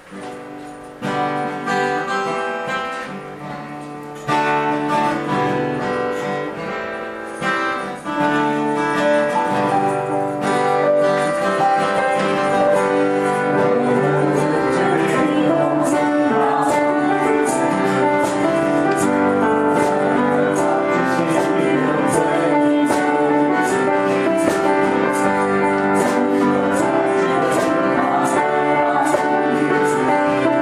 「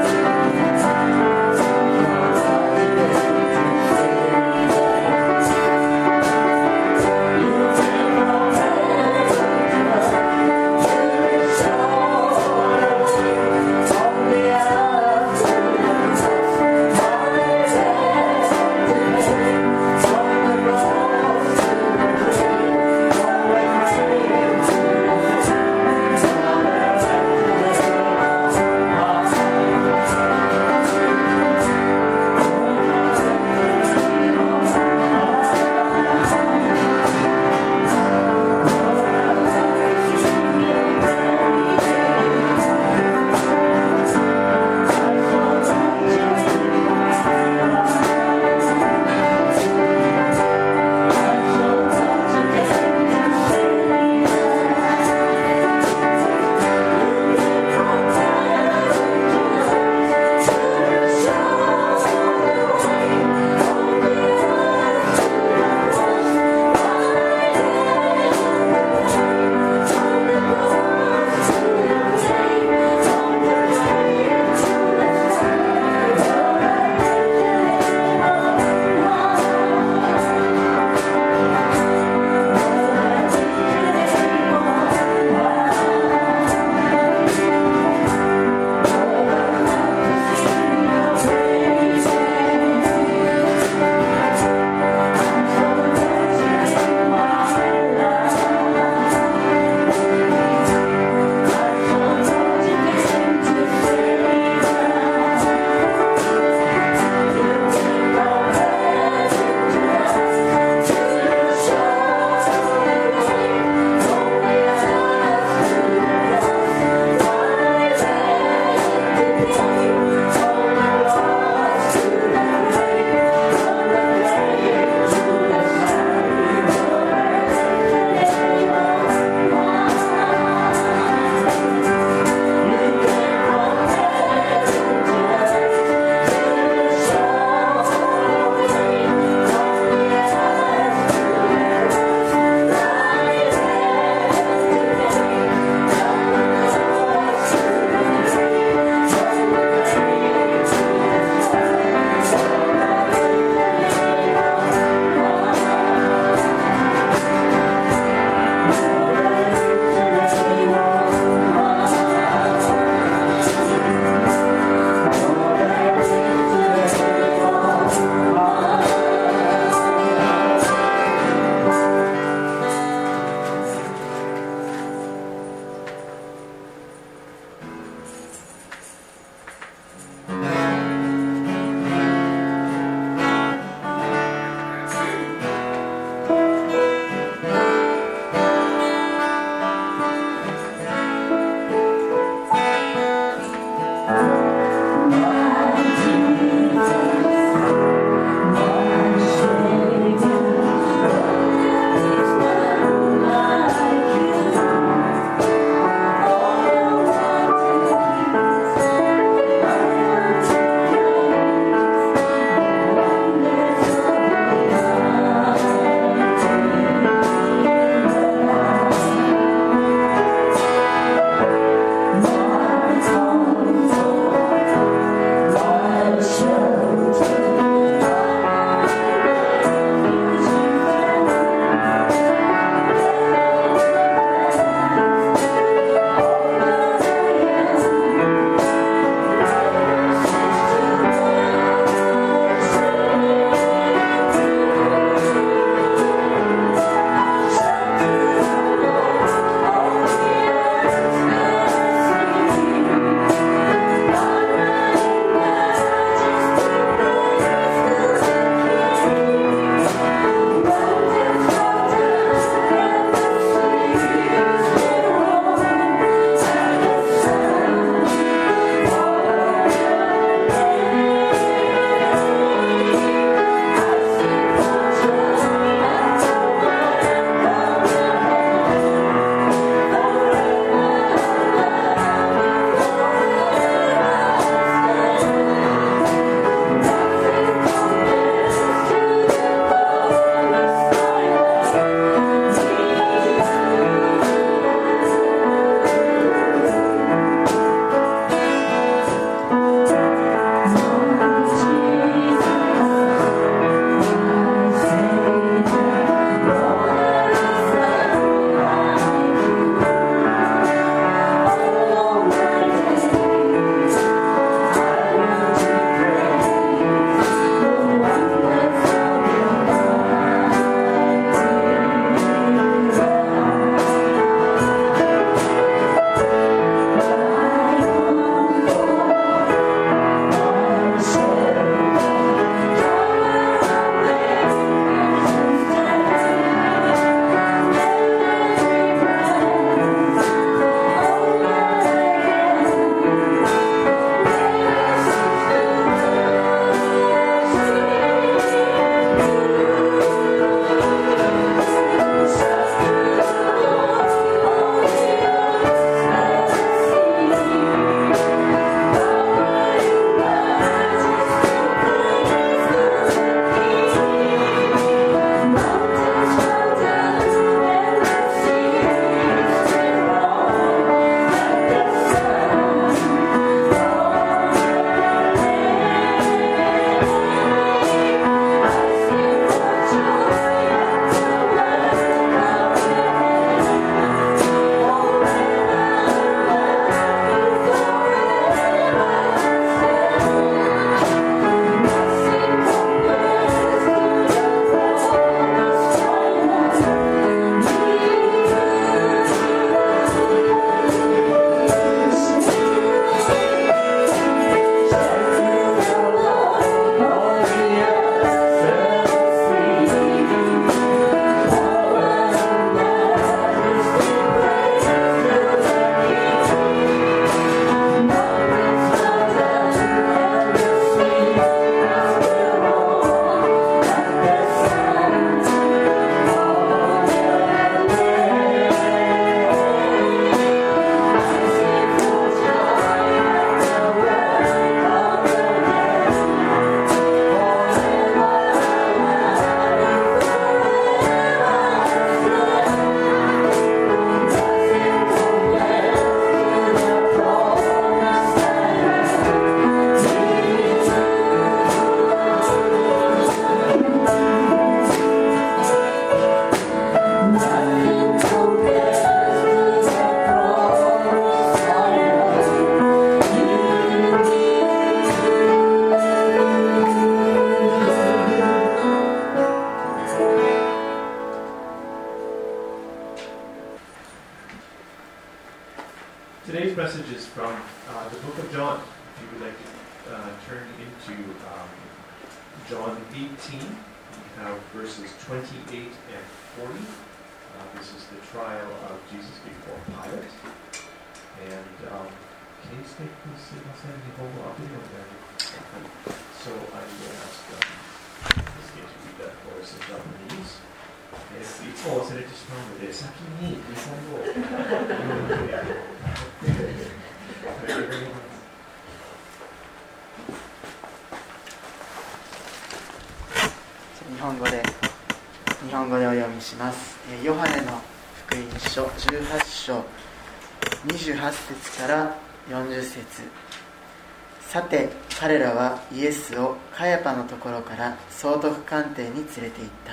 is from the book of John. If you would like to turn into John 18, we have verses 28 and 40. This is the trial of Jesus before Pilate. And so I will ask this game to read that for us in Japanese. いつも忘れてしまうので、先に日本語を読んで日本語でお読みします。ヨハネの福音書18章28節から40節。さて彼らはイエスをカヤパのところから総督官邸に連れて行った。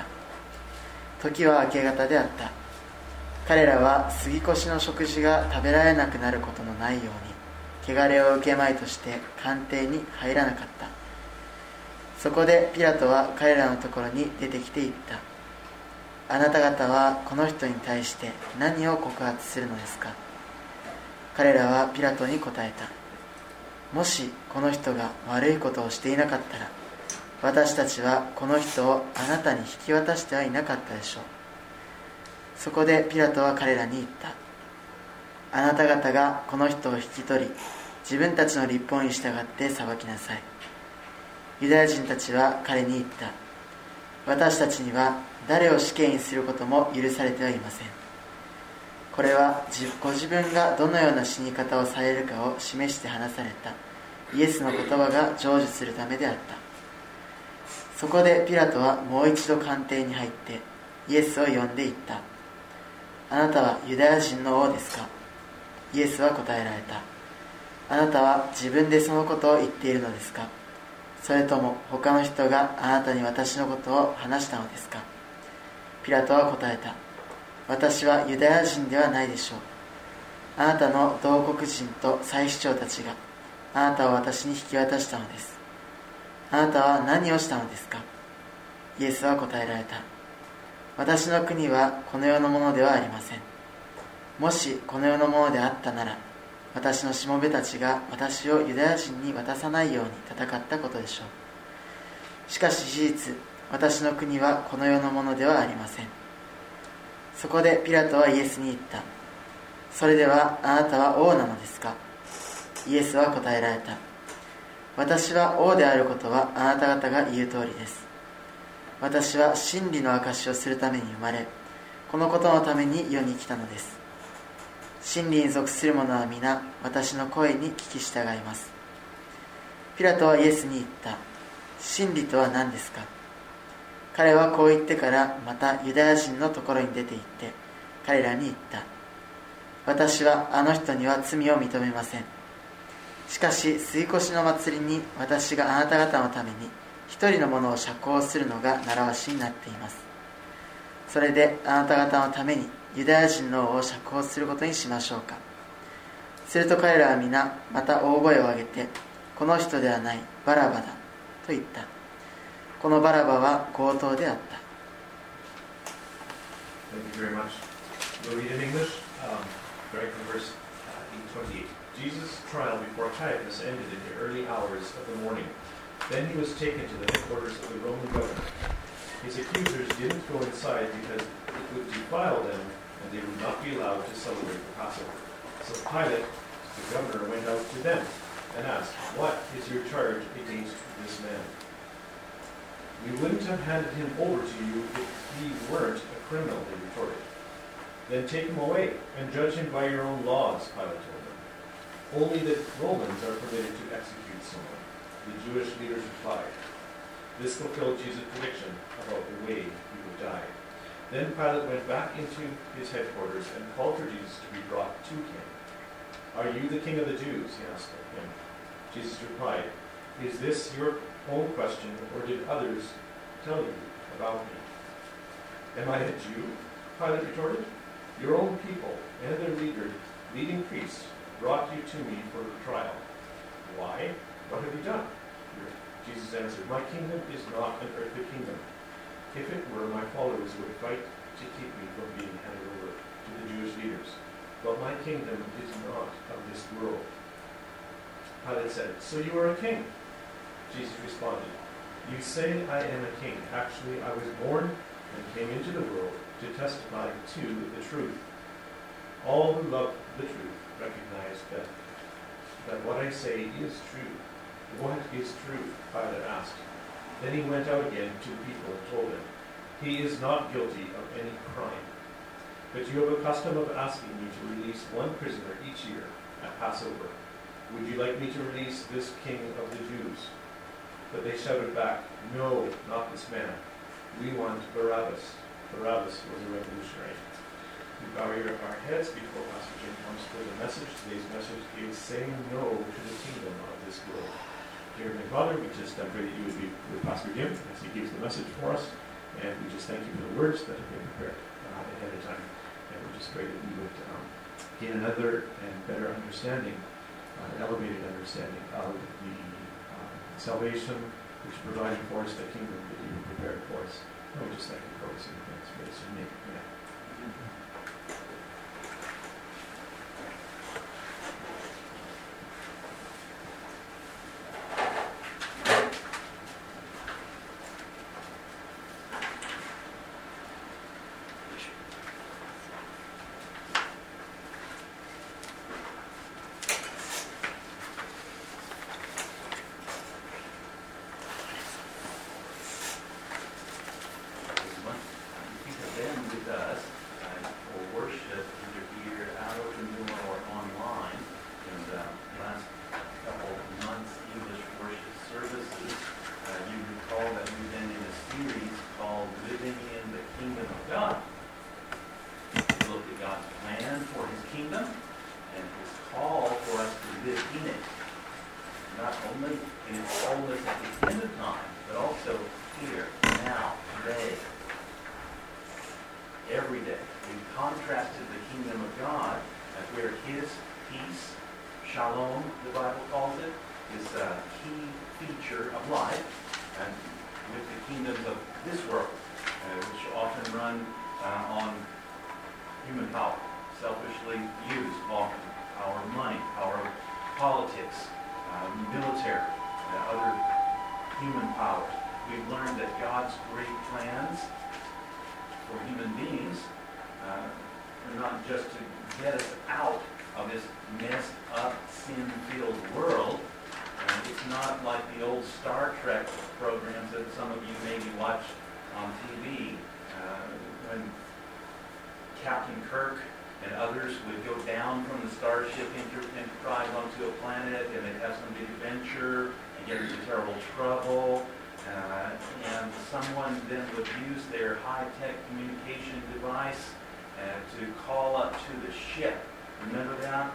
時は明け方であった。彼らは杉越の食事が食べられなくなることのないように汚れを受けまいとして官邸に入らなかった。そこでピラトは彼らのところに出てきて言った。あなた方はこの人に対して何を告発するのですか。彼らはピラトに答えた。もしこの人が悪いことをしていなかったら、私たちはこの人をあなたに引き渡してはいなかったでしょう。そこでピラトは彼らに言った。あなた方がこの人を引き取り、自分たちの律法に従って裁きなさい。ユダヤ人たちは彼に言った。私たちには誰を死刑にすることも許されてはいません。これはご自分がどのような死に方をされるかを示して話されたイエスの言葉が成就するためであった。そこでピラトはもう一度官邸に入ってイエスを呼んで言った。あなたはユダヤ人の王ですか。イエスは答えられた。あなたは自分でそのことを言っているのですか。それとも他の人があなたに私のことを話したのですか。ピラトは答えた。私はユダヤ人ではないでしょう。あなたの同国人と祭司長たちがあなたを私に引き渡したのです。あなたは何をしたのですか。イエスは答えられた。私の国はこの世のものではありません。もしこの世のものであったなら、私のしもべたちが私をユダヤ人に渡さないように戦ったことでしょう。しかし事実、私の国はこの世のものではありません。そこでピラトはイエスに言った。それではあなたは王なのですか。イエスは答えられた。私は王であることはあなた方が言う通りです。私は真理の証しをするために生まれ、このことのために世に来たのです。真理に属する者は皆私の声に聞き従います。ピラトはイエスに言った。真理とは何ですか。彼はこう言ってからまたユダヤ人のところに出て行って彼らに言った。私はあの人には罪を認めません。しかし杉越の祭りに私があなた方のために一人の者を釈放するのが習わしになっています。それであなた方のためにユダヤ人の王を釈放することにしましょうか。すると彼らは皆また大声を上げて、この人ではないバラバだと言った。このバラバは強盗であった。 Thank you very much. We'll read in English, starting from verse 28. Jesus' trial before Caiaphas ended in the early hours of the morning. Then he was taken to the headquarters of the Roman governor. His accusers didn't go inside because it would defile them and they would not be allowed to celebrate the Passover. So Pilate, the governor, went out to them and asked, "What is your charge against this man? We wouldn't have handed him over to you if he weren't a criminal," they retorted. "Then take him away and judge him by your own laws," Pilate told them. "Only the Romans are permitted to execute someone," the Jewish leaders replied. This fulfilled Jesus' prediction about the way he would die. Then Pilate went back into his headquarters and called for Jesus to be brought to him. "Are you the king of the Jews?" he asked him. Jesus replied, "Is this your own question, or did others tell you about me?" "Am I a Jew?" Pilate retorted. "Your own people and their leading priests brought you to me for trial. Why? What have you done?" Jesus answered, "My kingdom is not an earthly kingdom. If it were, my followers would fight to keep me from being handed over to the Jewish leaders. But my kingdom is not of this world." Pilate said, "So you are a king?" Jesus responded, "You say I am a king. Actually, I was born and came into the world to testify to the truth. All who love the truth recognize that what I say is true." "What is truth?" Pilate asked. Then he went out again to the people and told them, "He is not guilty of any crime. But you have a custom of asking me to release one prisoner each year at Passover. Would you like me to release this king of the Jews?" But they shouted back, "No, not this man. We want Barabbas." Barabbas was a revolutionary. We bow our heads before Pastor Jim comes for the message. Today's message is saying no to the kingdom of this world. Dear Heavenly Father, we just pray that you would be with Pastor Jim as he gives the message for us. And we just thank you for the words that have been prepared ahead of time. And we just pray that we would gain another and better understanding, an elevated understanding of the salvation which is providing for us, the kingdom that you have prepared for us. And we just thank you for this in advance. For this in your name. Amen. Captain Kirk and others would go down from the Starship Enterprise onto a planet, and they'd have some big adventure and get into terrible trouble. And someone then would use their high-tech communication device to call up to the ship. Remember that?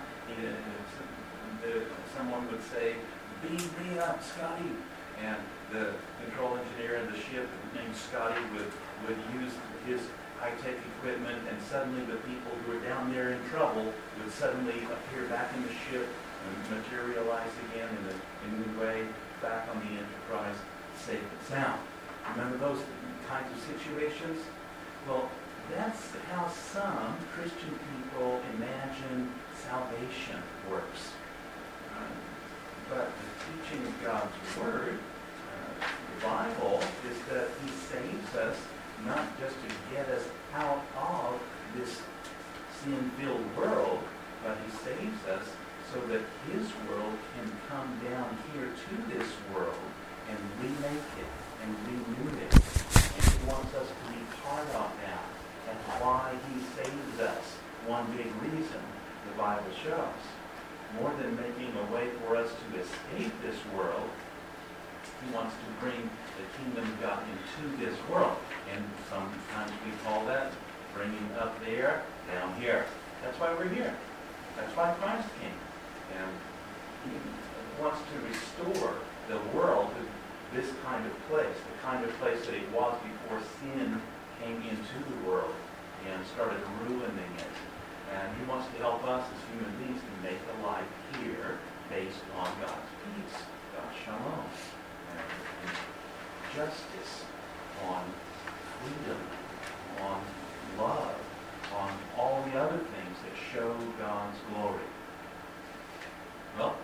Someone would say, "Beam me up, Scotty." And the control engineer in the ship named Scotty would use his high-tech equipment, and suddenly the people who were down there in trouble would suddenly appear back in the ship and materialize again in a new way back on the Enterprise, safe and sound. Remember those kinds of situations? Well, that's how some Christian people imagine salvation works. But the teaching of God's Word, the Bible, is that He saves us not just to get us out of this sin-filled world, but He saves us so that His world can come down here to this world and remake it and renew it. And He wants us to be part of that. That's why He saves us. One big reason the Bible shows. More than making a way for us to escape this world, He wants to bring the kingdom of God into this world. And sometimes we call that bringing up there, down here. That's why we're here. That's why Christ came. And He wants to restore the world to this kind of place, the kind of place that it was before sin came into the world and started ruining it. And He wants to help us as human beings to make a life here based on God's peace, God's shalom, and justice, on freedom, on love, on all the other things that show God's glory. Well,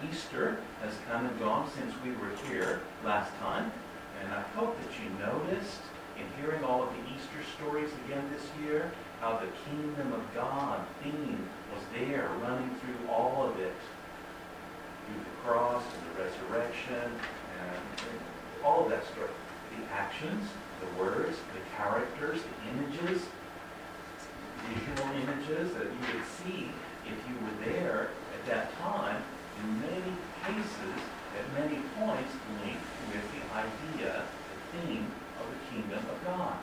Easter has come and gone since we were here last time, and I hope that you noticed in hearing all of the Easter stories again this year, how the kingdom of God theme was there, running through all of it, through the cross and the resurrection, and all of that story. The actions, the words, the characters, the images, visual images that you would see if you were there at that time, in many cases, at many points, linked with the idea, the theme of the kingdom of God.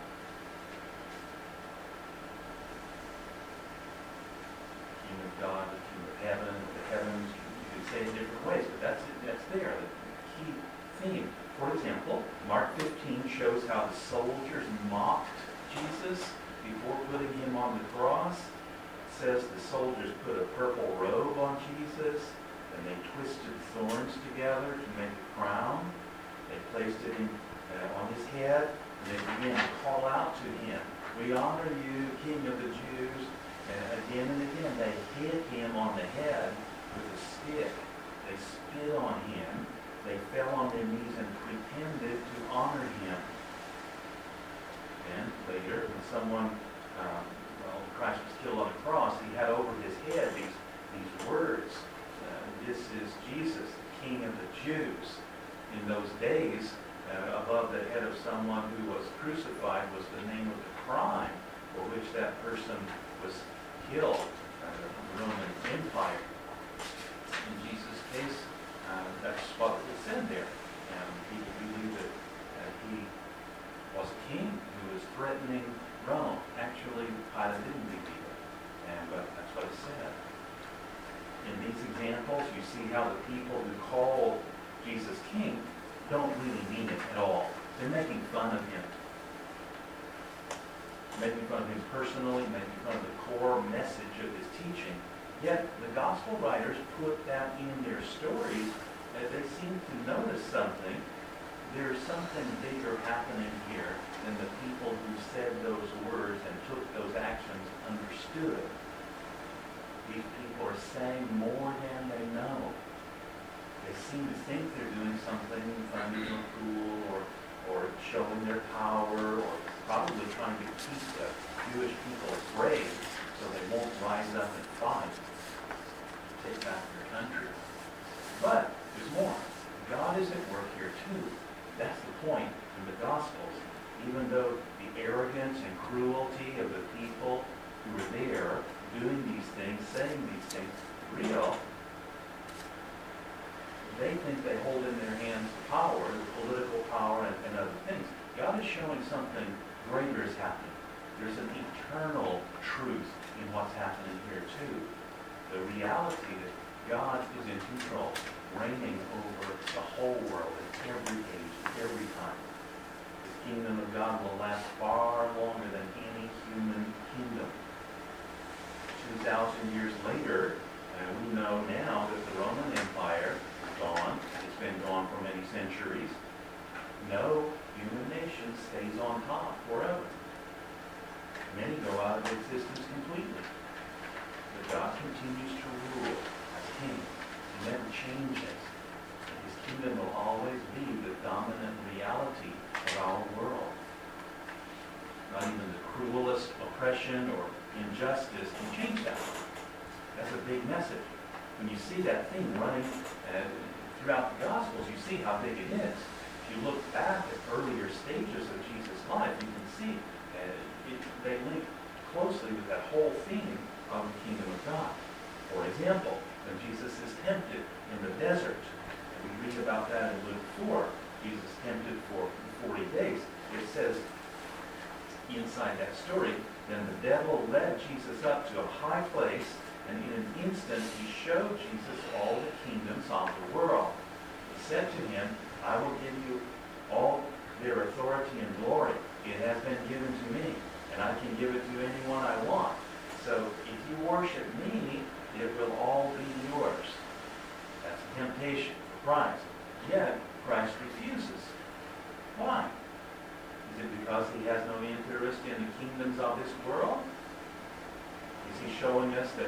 The kingdom of God, the kingdom of heaven, the heavens, you could say in different ways, but that's there, the key theme. For example, Mark 15 shows how the soldiers mocked Jesus before putting him on the cross. It says the soldiers put a purple robe on Jesus, and they twisted thorns together to make a crown. They placed it on his head, and they began to call out to him, "We honor you, King of the Jews." And again and again, they hit him on the head with a stick. They spit on him. They fell on their knees and pretended to honor him. And later, when Christ was killed on the cross, he had over his head these words. This is Jesus, the King of the Jews. In those days, above the head of someone who was crucified was the name of the crime for which that person was killed, the Roman Empire. In Jesus' case, that's what it said there. People believed that he was a king who was threatening Rome. Actually, Pilate didn't believe it, but that's what it said. In these examples, you see how the people who call Jesus king don't really mean it at all. They're making fun of him. Making fun of him personally, making fun of the core message of his teaching. Yet the gospel writers put that in their stories, and they seem to notice something. There's something bigger happening here than the people who said those words and took those actions understood. These people are saying more than they know. They seem to think they're doing something funny or cool or showing their power, or probably trying to keep the Jewish people afraid so they won't rise up and fight, take back their country. But there's more. God is at work here too. That's the point in the Gospels. Even though the arrogance and cruelty of the people who were there doing these things, saying these things, real, they think they hold in their hands the power, the political power, and other things. God is showing something greater is happening. There's an eternal truth in what's happening here too. The reality that God is in control, reigning over the whole world at every age, every time. The kingdom of God will last far longer than any human kingdom. 2,000 years later, we know now that the Roman Empire is gone. It's been gone for many centuries. No human nation stays on top forever. Many go out of existence completely. But God continues to rule as king. He never changes. His kingdom will always be the dominant reality of our world. Not even the cruelest oppression or injustice can change that. That's a big message. When you see that thing running throughout the Gospels, you see how big it is. If you look back at earlier stages of Jesus' life, you can see they link closely with that whole theme of the kingdom of God. For example, when Jesus is tempted in the desert, and we read about that in Luke 4, Jesus tempted for 40 days. It says inside that story, then the devil led Jesus up to a high place, and in an instant he showed Jesus all the kingdoms of the world. He said to him, I will give you all their authority and glory. It has been given to me, and I can give it to anyone I want. So if you worship me, it will all be yours. That's a temptation for Christ. Yet Christ refuses. Why? Is it because he has no interest in the kingdoms of this world? Is he showing us that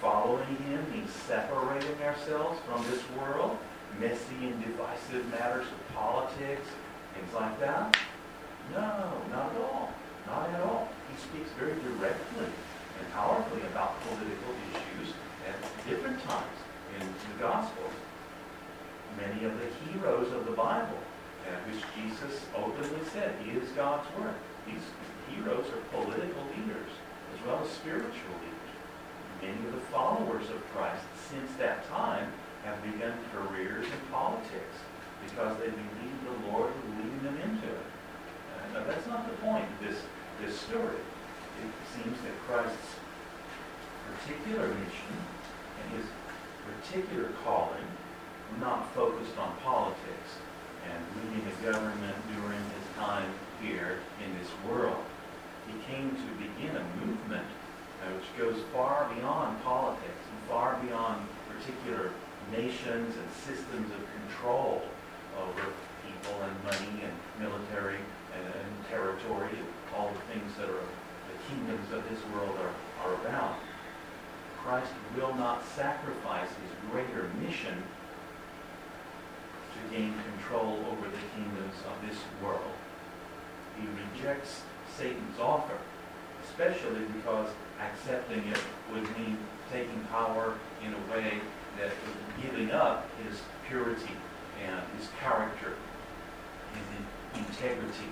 following him means separating ourselves from this world, messy and divisive matters of politics, things like that? No, not at all. Not at all. He speaks very directly and powerfully about political issues at different times in the Gospels. Many of the heroes of the Bible, which Jesus openly said is God's Word. These heroes are political leaders as well as spiritual leaders. Many of the followers of Christ since that time have begun careers in politics because they believe the Lord is leading them into it. Now that's not the point of this story. It seems that Christ's particular mission and his particular calling were not focused on politics and leading a government during his time here in this world. He came to begin a movement which goes far beyond politics and far beyond particular nations and systems of control over people and money and military and territory, all the things that are the kingdoms of this world are about. Christ will not sacrifice his greater mission to gain control over the kingdoms of this world. He rejects Satan's offer, especially because accepting it would mean taking power in a way that was giving up his purity and his character, his integrity.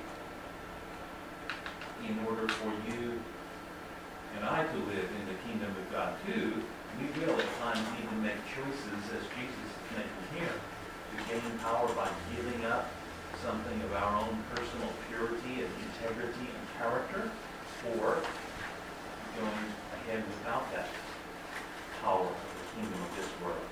In order for you and I to live in the kingdom of God too, we will at times even make choices, as Jesus is making here, to gain power by giving up something of our own personal purity and integrity and character, or going ahead without that power of the kingdom of this world.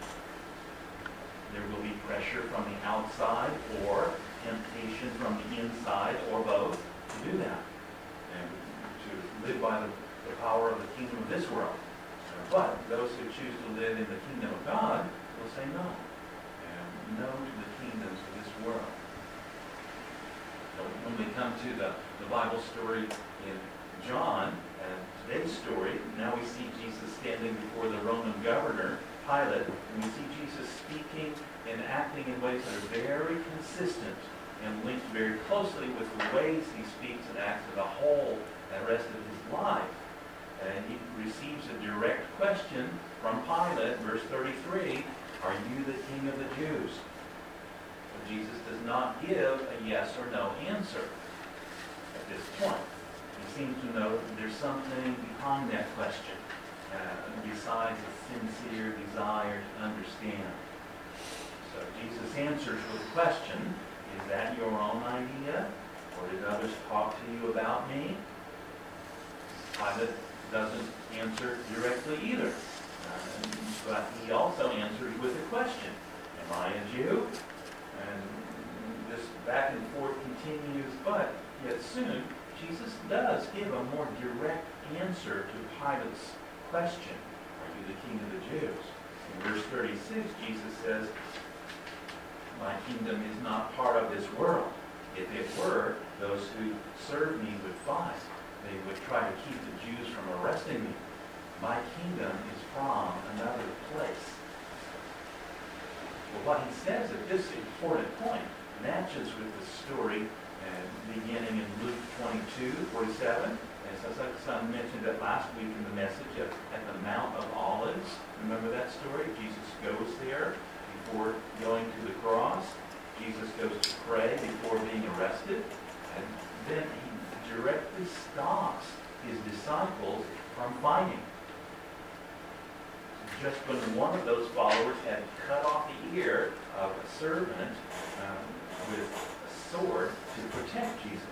There will be pressure from the outside or temptation from the inside, or both, to do that and to live by the power of the kingdom of this world. But those who choose to live in the kingdom of God will say no. And no to the kingdoms of this world. So when we come to the Bible story in John, and today's story, now we see Jesus standing before the Roman governor, Pilate, and we see Jesus speaking and acting in ways that are very consistent and linked very closely with the ways he speaks and acts as a whole the rest of his life. And he receives a direct question from Pilate, verse 33, "Are you the king of the Jews?" So Jesus does not give a yes or no answer at this point. He seems to know that there's something behind that question, besides a sincere desire to understand. So Jesus answers with a question: "Is that your own idea? Or did others talk to you about me?" Pilate doesn't answer directly either. But he also answers with a question: "Am I a Jew?" And this back and forth continues, but yet soon Jesus does give a more direct answer to Pilate's question: "Are you the king of the Jews?" In verse 36, Jesus says, "My kingdom is not part of this world. If it were, those who serve me would fight. They would try to keep the Jews from arresting me. My kingdom is from another place." Well, what he says at this important point matches with the story beginning in Luke 22:47. As I mentioned that last week in the message at the Mount of Olives. Remember that story? Jesus goes there before going to the cross. Jesus goes to pray before being arrested. And then he directly stops his disciples from fighting. Just when one of those followers had cut off the ear of a servant with a sword to protect Jesus.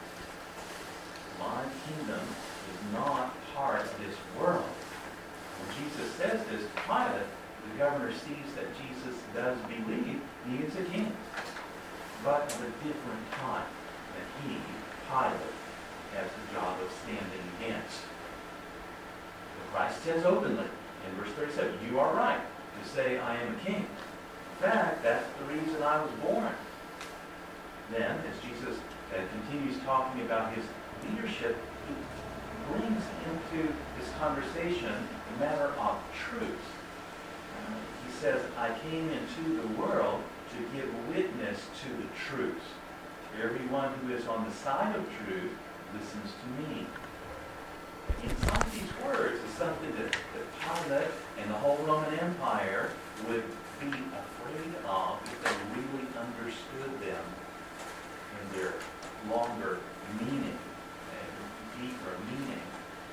My kingdom is not part of this world. When Jesus says this to Pilate, the governor sees that Jesus does believe he is a king, but at a different time that he, Pilate, has the job of standing against. But Christ says openly in verse 37, "You are right to say I am a king. In fact, that's the reason I was born." Then, as Jesus continues talking about his leadership, he brings into this conversation the matter of truth. He says, I came into the world to give witness to the truth. Everyone who is on the side of truth listens to me. Inside these words is something that Pilate and the whole Roman Empire would be afraid of if they really understood them in their longer meaning, and deeper meaning,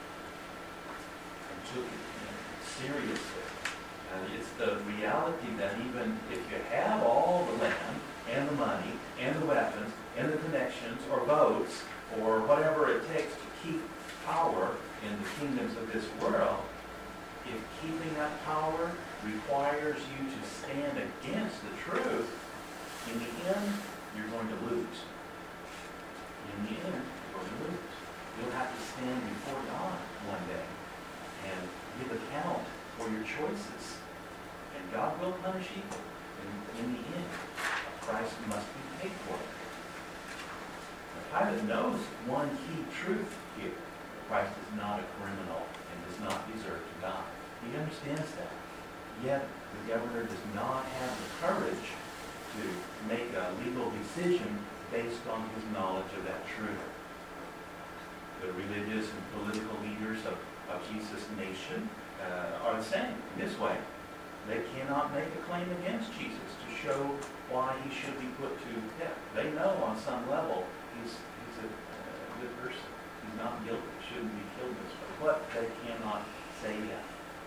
and took it seriously. And it's the reality that even if you have all the land and the money and the weapons and the connections or votes or whatever it takes to keep power in the kingdoms of this world, if keeping that power requires you to stand against the truth, in the end, you're going to lose. In the end, you're going to lose. You'll have to stand before God one day and give account for your choices. And God will punish evil. And in the end, a price must be paid for it. Now, Pilate knows one key truth here. Christ is not a criminal and does not deserve to die. He understands that. Yet, the governor does not have the courage to make a legal decision based on his knowledge of that truth. The religious and political leaders of Jesus' nation are the same in this way. They cannot make a claim against Jesus to show why he should be put to death. They know on some level he's a good person. He's not guilty. Shouldn't be killed this way. But they cannot say that.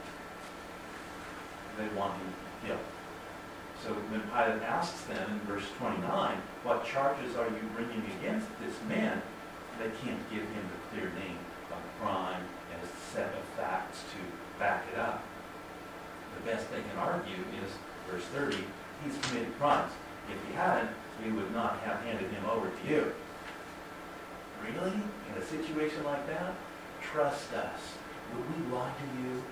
They want him killed. So when Pilate asks them in verse 29, what charges are you bringing against this man? They can't give him the clear name of the crime and a set of facts to back it up. The best they can argue is verse 30, he's committed crimes. If he hadn't, we would not have handed him over to you. Really? In a situation like that? Trust us. Would we lie to you?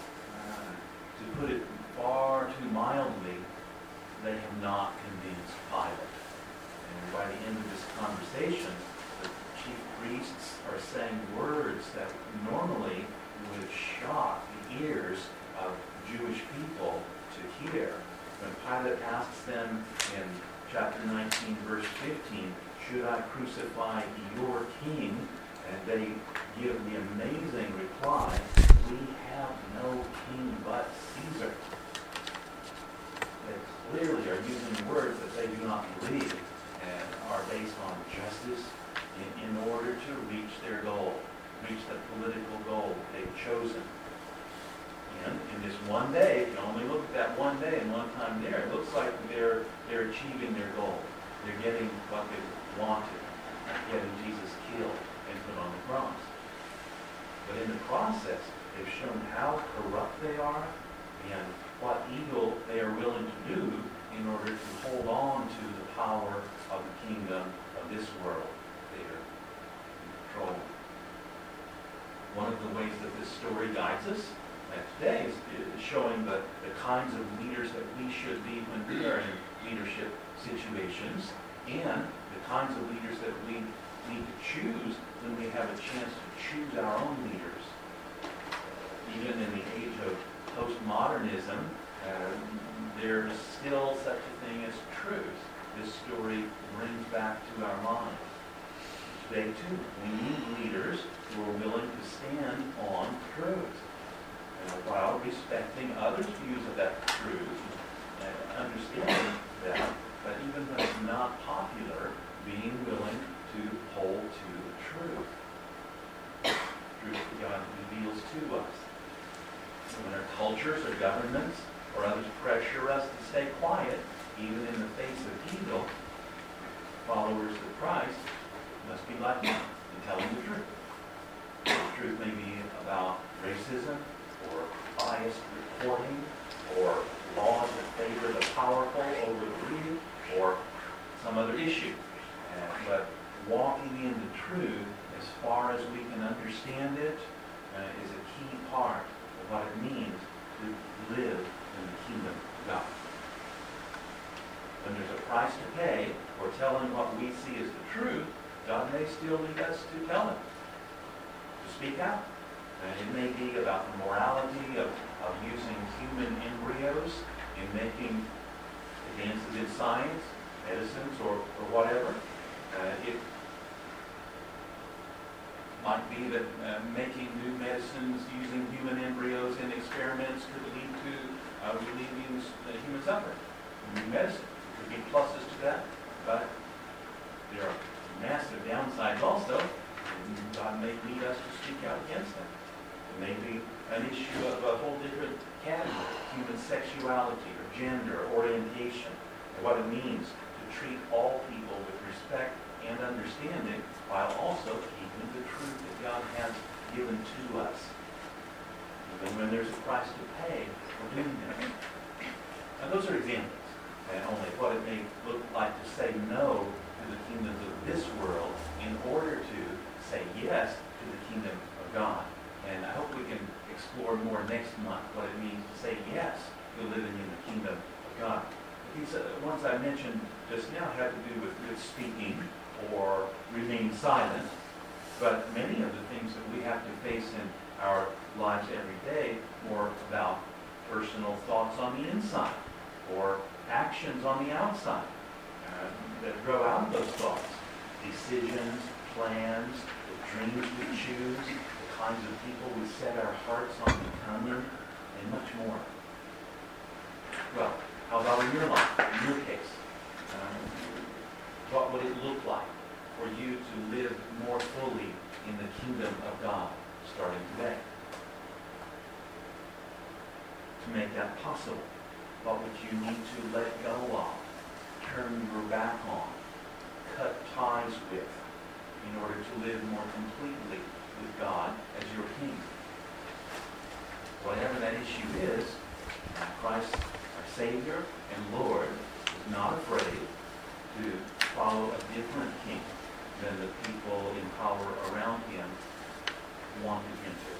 To put it far too mildly, they have not convinced Pilate. And by the end of this conversation, the chief priests are saying words that normally would shock the ears of Jewish people to hear. When Pilate asks them in chapter 19, verse 15, should I crucify your king? And they give the amazing reply, we have no king but Caesar. They clearly are using words that they do not believe and are based on justice in order to reach their goal, reach the political goal they've chosen. And in this one day, if you only look at that one day and one time there, it looks like they're achieving their goal. They're getting what they wanted, getting Jesus killed and put on the cross. But in the process, they've shown how corrupt they are and what evil they are willing to do in order to hold on to the power of the kingdom of this world they are in control. One of the ways that this story guides us today is showing the kinds of leaders that we should be when we are in leadership situations, and the kinds of leaders that we need to choose when we have a chance to choose our own leaders. Even in the age of postmodernism, there's still such a thing as truth. This story brings back to our minds. Today, too, we need leaders who are willing to stand on truth, while respecting others' views of that truth and understanding that, but even when it's not popular, being willing to hold to the truth. Truth that God reveals to us. When our cultures or governments or others pressure us to stay quiet, even in the face of evil, followers of Christ must be like him in telling the truth. The truth may be about racism, or biased reporting, or laws that favor the powerful over the weak, or some other issue. But walking in the truth, as far as we can understand it, is a key part of what it means to live in the kingdom of God. When there's a price to pay for telling what we see as the truth, God may still lead us to tell it, to speak out. And it may be about the morality of using human embryos in making advances in science, medicines, or whatever. It might be that making new medicines using human embryos in experiments could lead to relieving human suffering. New medicine. There could be pluses to that, but there are massive downsides also. And God may lead us to speak out against them. It may be an issue of a whole different category, human sexuality or gender or orientation, and what it means to treat all people with respect and understanding while also keeping the truth that God has given to us. Even when there's a price to pay for doing that. Now those are examples, and only what it may look like to say no to the kingdoms of this world in order to say yes to the kingdom of God. And I hope we can explore more next month what it means to say yes to living in the kingdom of God. These ones I mentioned just now had to do with good speaking or remaining silent, but many of the things that we have to face in our lives every day more about personal thoughts on the inside or actions on the outside that grow out of those thoughts. Decisions, plans, the dreams we choose, the kinds of people we set our hearts on becoming, and much more. Well, how about in your life, in your case? What would it look like for you to live more fully in the kingdom of God starting today? To make that possible, what would you need to let go of, turn your back on, cut ties with, in order to live more completely with God as your King? Whatever that issue is, Christ, our Savior and Lord, is not afraid to follow a different king than the people in power around him wanted him to.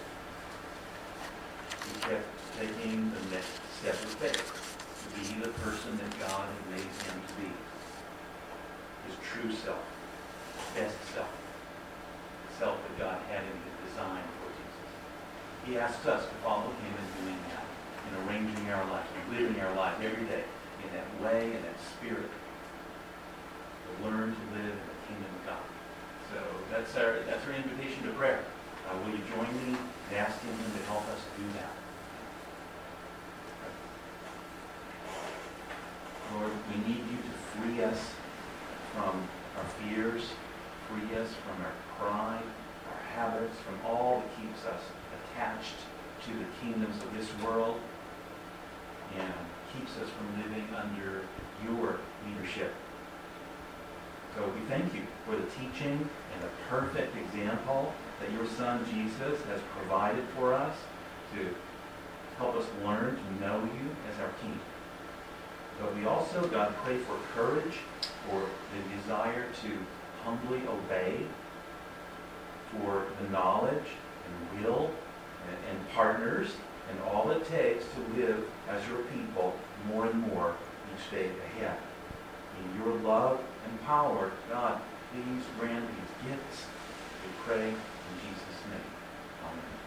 He kept taking the next step of faith to be the person that God had made him to be. His true self, best self, the self that God had in his design for Jesus. He asks us to follow him in doing that, in arranging our life, in living our life every day in that way, in that spirit. To learn to live in the kingdom of God. So that's our invitation to prayer. Will you join me in asking him to help us do that? Lord, we need you to free us from our fears, free us from our pride, our habits, from all that keeps us attached to the kingdoms of this world and keeps us from living under your leadership. So we thank you for the teaching and the perfect example that your Son Jesus has provided for us to help us learn to know you as our King. But we also, God, pray for courage, for the desire to humbly obey, for the knowledge and will and partners and all it takes to live as your people more and more each day ahead. In your love and power, God, please grant these gifts. We pray in Jesus' name. Amen.